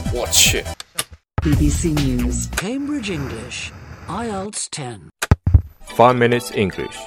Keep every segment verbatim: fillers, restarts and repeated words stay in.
我去。 B B C News Cambridge English I E L T S ten Five minutes English。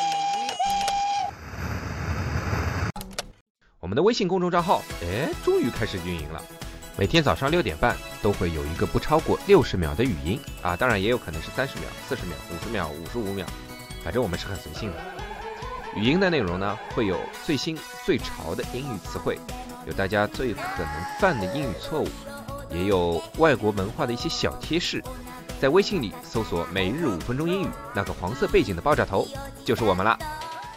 我们的微信公众账号，哎，终于开始运营了。每天早上六点半都会有一个不超过六十秒的语音啊，当然也有可能是三十秒、四十秒、五十秒、五十五秒，反正我们是很随性的。语音的内容呢，会有最新最潮的英语词汇，有大家最可能犯的英语错误，也有外国文化的一些小贴士。在微信里搜索每日五分钟英语，那个黄色背景的爆炸头就是我们啦。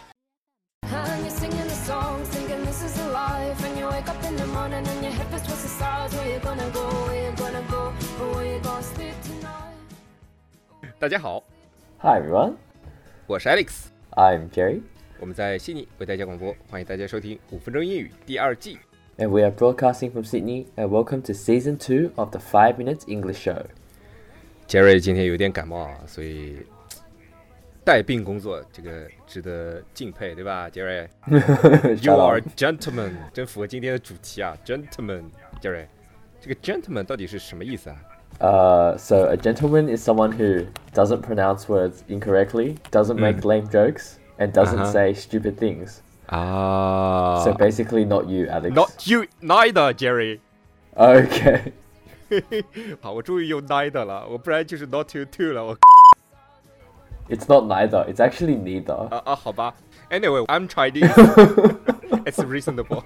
大家好 Hi everyone， 我是 Alex， I'm Jerry， 我们在悉尼为大家广播，欢迎大家收听五分钟英语第二季。 And we are broadcasting from Sydney, and welcome to Season two of the Five Minutes English Show. Jerry 今天有点感冒啊，所以带病工作，这个值得敬佩，对吧 ，Jerry？ You are gentleman， 真符合今天的主题啊 ，gentleman，Jerry。这个 gentleman 到底是什么意思啊？ Uh, so a gentleman is someone who doesn't pronounce words incorrectly, doesn't make lame jokes, and doesn't Uh-huh. say stupid things. 啊 So basically not you, Alex. Not you neither, Jerry。 Okay. 好，我终于用 neither 了，我不然就是 not you too 了。我 It's not neither, it's actually neither. 啊啊，好吧。Anyway, I'm Chinese. It's reasonable.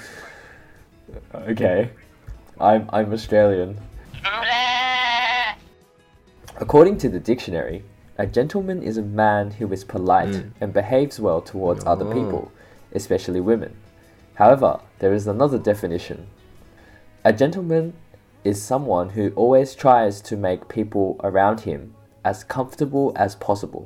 Okay. I'm I'm Australian. According to the dictionary, a gentleman is a man who is polite and behaves well towards other people, especially women. However, there is another definition. A gentleman is someone who always tries to make people around him as comfortable as possible.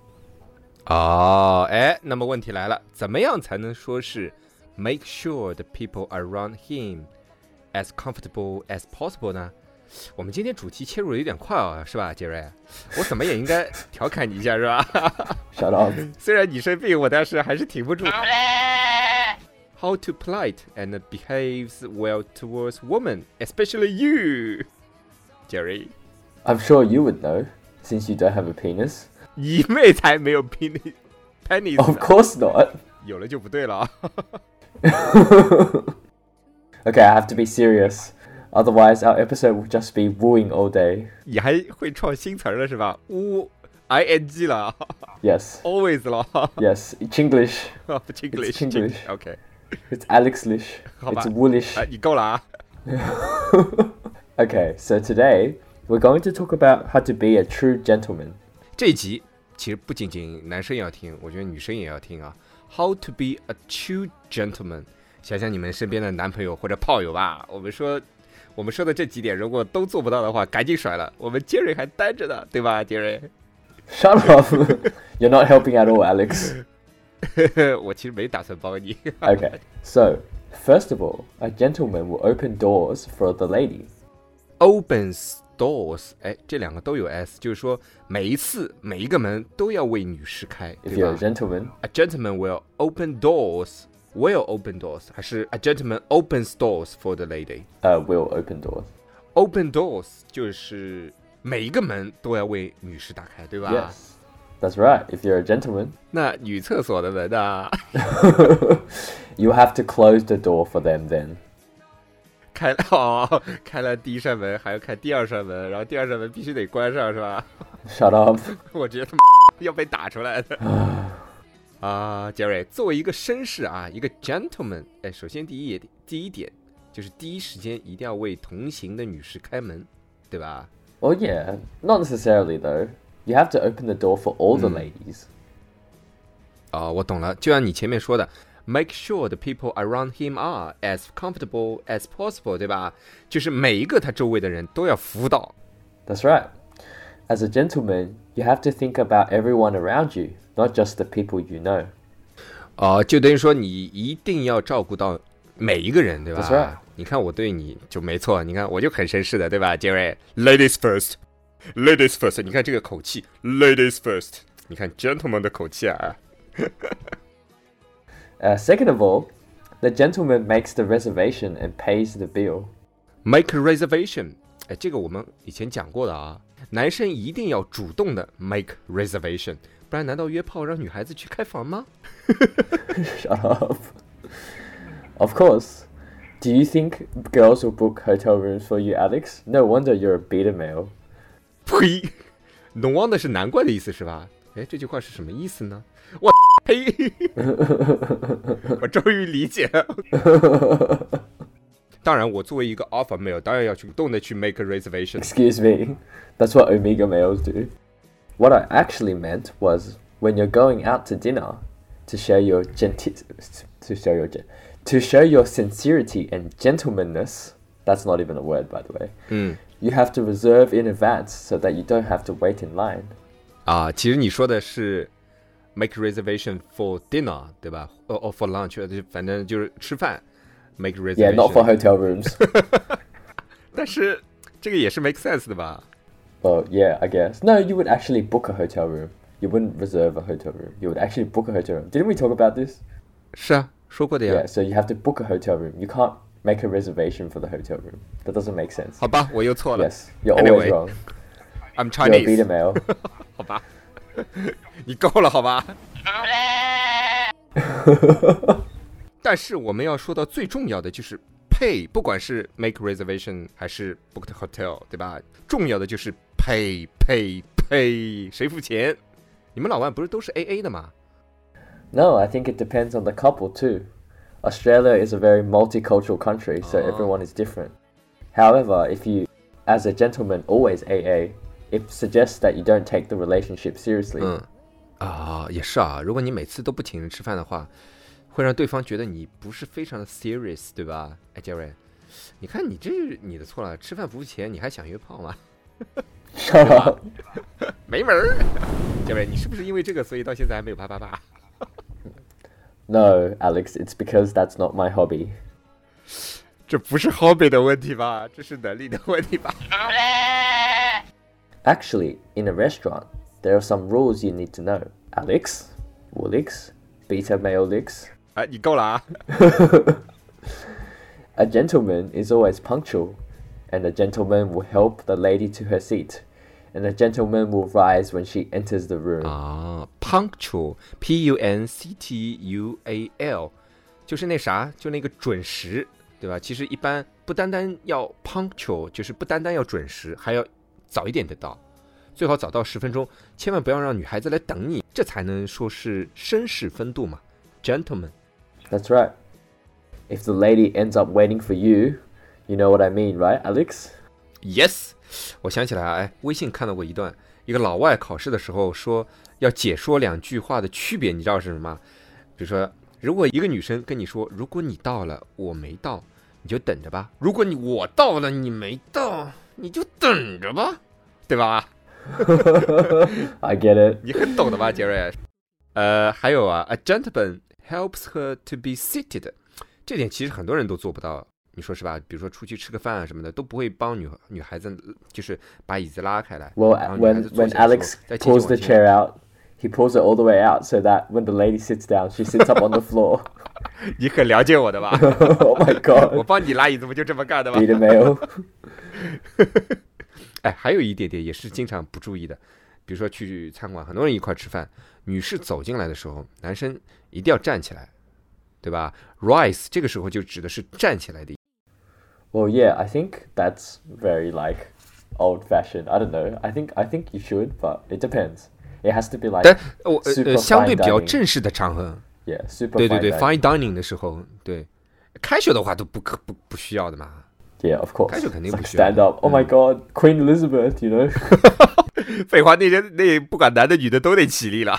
哦，哎，那么问题来了，怎么样才能说是 make sure the people around him as comfortable as possible 呢？我们今天主题切入的有点快啊，是吧，杰瑞？我怎么也应该调侃你一下，是吧 Shut up. 虽然你生病，我但是还是挺不住。How to polite and behaves well towards women, especially you, Jerry. I'm sure you would know, since you don't have a penis. 你妹才没有 penis, penis. Of course not. 有了就不对了啊。 Okay, I have to be serious. Otherwise, our episode will just be wooing all day. 你还会创新词了是吧？呜 ing 了 Yes. always 了 Yes. Chinglish. 不 Chinglish It's Chinglish. OK It's Alexlish. 好吧 It's Woolish. 哎，你够了啊。 Okay, so today we're going to talk about how to be a true gentleman. 这一集其实不仅仅男生要听，我觉得女生也要听啊。How to be a true gentleman。想想你们身边的男朋友或者炮友吧，我们说我们说的这几点，如果都做不到的话，赶紧甩了。我们杰瑞还单着呢，对吧，杰瑞？ Shut up. You're not helping at all, Alex. 我其实没打算帮你。 Okay, so first of all, a gentleman will open doors for the lady. Opens doors， 哎，这两个都有 s， 就是说每一次每一个门都要为女士开， If 对 you're 吧 a gentleman, A gentleman will open doors. Will open doors， 还是 a gentleman opens doors for the lady？ uh, will open doors. Open doors 就是每一个门都要为女士打开，对吧 Yes, that's right. If you're a gentleman, 那女厕所的门啊， you have to close the door for them then. 开了哦，开了第一扇门，还要开第二扇门，然后第二扇门必须得关上，是吧？ Shut up. 我觉得要被打出来的。啊，杰瑞，作为一个绅士啊，一个 gentleman， 哎，首先第一第一点就是第一时间一定要为同行的女士开门，对吧？ Well, yeah, not necessarily though. You have to open the door for all the ladies. 啊、我懂了，就像你前面说的 ，make sure the people around him are as comfortable as possible， 对吧？就是每一个他周围的人都要服到。 That's right. As a gentleman, you have to think about everyone around you, not just the people you know. 哦、就等于说你一定要照顾到每一个人，对吧 That's right. 你看我对你就没错，你看我就很绅士的，对吧，杰瑞 ？Ladies first, ladies first， 你看这个口气 ，ladies first， 你看 gentleman 的口气啊。 Uh, second of all, the gentleman makes the reservation and pays the bill. make a reservation， 哎，这个我们以前讲过的啊，男生一定要主动的 make reservation， 不然难道约炮让女孩子去开房吗 ？Shut up. Of course. Do you think girls will book hotel rooms for you, Alex? No wonder you're a beta male. 呸 ，no wonder 是难怪的意思是吧？哎，这句话是什么意思呢？我呸！我终于理解了。当然，我作为一个 alpha male， 当然要主动的去 make a reservation. Excuse me, that's what omega males do. What I actually meant was when you're going out to dinner to show your genti- to show your to show your sincerity and gentlemanness. That's not even a word, by the way. 嗯。 You have to reserve in advance so that you don't have to wait in line. 啊，其实你说的是 make reservation for dinner， 对吧？哦哦 for lunch， 反正就是吃饭 make reservation。 Yeah, not for hotel rooms. 但是这个也是 make sense 的吧？ Well, yeah, I guess. No, you would actually book a hotel room. You wouldn't reserve a hotel room. You would actually book a hotel room. Didn't we talk about this? 是啊，说过的呀。 Yeah, so you have to book a hotel room. You can't make a reservation for the hotel room. That doesn't make sense. 好吧，我又错了。 Yes, you're Anyway, always wrong. I'm You're a beta Chinese. male. 好吧，你够了好吧？但是我们要说到最重要的就是 pay， 不管是 make reservation 还是 book the hotel， 对吧？重要的就是 pay pay pay， 谁付钱？你们老外不是都是 A A 的吗？ No, I think it depends on the couple too. Australia is a very multicultural country, so Oh. everyone is different. However, if you, as a gentleman, always A A, it suggests that you don't take the relationship seriously. 嗯，啊，也是啊。如果你每次都不请人吃饭的话，会让对方觉得你不是非常的 serious， 对吧？哎，杰瑞，你看你这是你的错了，吃饭不付钱，你还想约炮吗？ Shut up. 没门儿！杰瑞，你是不是因为这个，所以到现在还没有啪啪啪？ No, Alex, it's because that's not my hobby. 这不是 hobby 的问题吧？这是能力的问题吧？ Actually, in a restaurant, there are some rules you need to know. Alex, Woolix, beta male licks. 哎，你够了啊！ A gentleman is always punctual, and a gentleman will help the lady to her seat, and a gentleman will rise when she enters the room. 啊 ，punctual, P U N C T U A L， 就是那啥，就那个准时，对吧？其实一般不单单要 punctual， 就是不单单要准时，还要早一点的到，最好早到十分钟，千万不要让女孩子来等你，这才能说是绅士风度嘛 ，gentleman。 That's right. If the lady ends up waiting for you, you know what I mean, right, Alex? Yes， 我想起来，哎，微信看到过一段，一个老外考试的时候说要解说两句话的区别，你知道是什么吗？比如说，如果一个女生跟你说，如果你到了，我没到，你就等着吧；如果你我到了，你没到，你就等着吧，对吧？ I get it. 你很懂的吧，杰瑞？呃，还有啊 ，a gentleman helps her to be seated， 这点其实很多人都做不到。你说是吧？比如说出去吃个饭啊什么的，都不会帮女女孩子，就是把椅子拉开来。 Well, 然后女孩 when 子坐 when 下的时候 Alex 再继续 pulls 往 the 前 chair out, he pulls it all the way out so that when the lady sits down, she sits up on the floor. 你很了解我的吧？ Oh my 我 god. 帮你拉椅子不就这么干的吗？ Beta male. 哎，还有一点点也是经常不注意的，比如说去餐馆，很多人一块吃饭，女士走进来的时候，男生一定要站起来，对吧 ？Rise 这个时候就指的是站起来的。 Well, yeah, I think that's very like old-fashioned. I don't know. I think I think you should, but it depends. It has to be like 但我呃 super 呃相对 fine 比较 dining. 正式的场合， Yeah, super 对对 fine 对 dining. ，fine dining 的时候，对，casual 的话都不可不不需要的嘛。 Yeah, of course. 开始肯定 It's 不 like 需要。 stand up. Oh my god, Queen Elizabeth, you know? 废话，那人那不管男的女的都得起立了。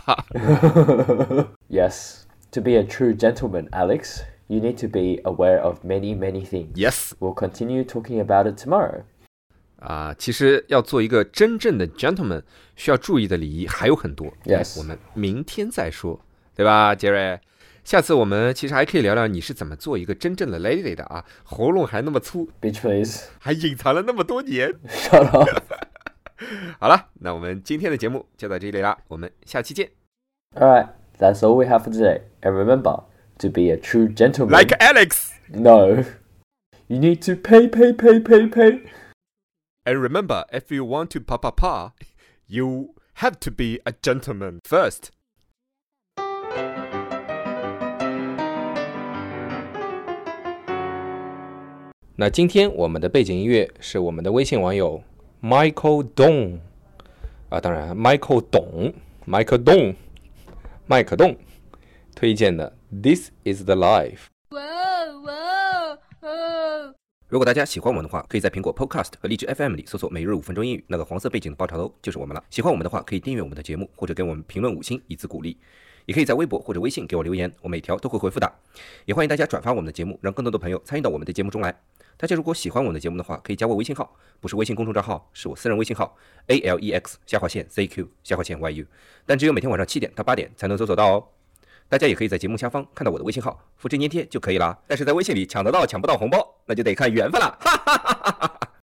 Yes. To be a true gentleman, Alex, you need to be aware of many, many things. Yes， We'll continue talking about it tomorrow. 啊，其实要做一个真正的 gentleman，需要注意的礼仪还有很多。 Yes 我们明天再说，对吧，杰瑞？下次我们其实还可以聊聊你是怎么做一个真正的 lady 的啊，喉咙还那么粗， Bitch, please. 还隐藏了那么多年。 Shut up. 好了，那我们今天的节目就到这里啦，我们下期见。 Alright, that's all we have for today. And remember, to be a true gentleman... Like Alex， No. You need to pay, pay, pay, pay, pay. And remember, if you want to pa pa pa, you have to be a gentleman first. 那今天我们的背景音乐是我们的微信网友 Michael Dong 啊，当然 Michael 董 Michael Dong 麦克栋推荐的 This is the Life。 如果大家喜欢我们的话，可以在苹果 Podcast 和荔枝 F M 里搜索每日五分钟英语，那个黄色背景的爆炒头就是我们了。喜欢我们的话，可以订阅我们的节目，或者给我们评论五星以资鼓励，也可以在微博或者微信给我留言，我每条都会回复的。也欢迎大家转发我们的节目，让更多的朋友参与到我们的节目中来。大家如果喜欢我们的节目的话，可以加我微信号，不是微信公众账号，是我私人微信号 A L E X 下划线 Z Q 下划线 Y U， 但只有每天晚上七点到八点才能搜索到哦。大家也可以在节目下方看到我的微信号，复制粘贴就可以了。但是在微信里抢得到抢不到红包，那就得看缘分了，哈哈哈哈。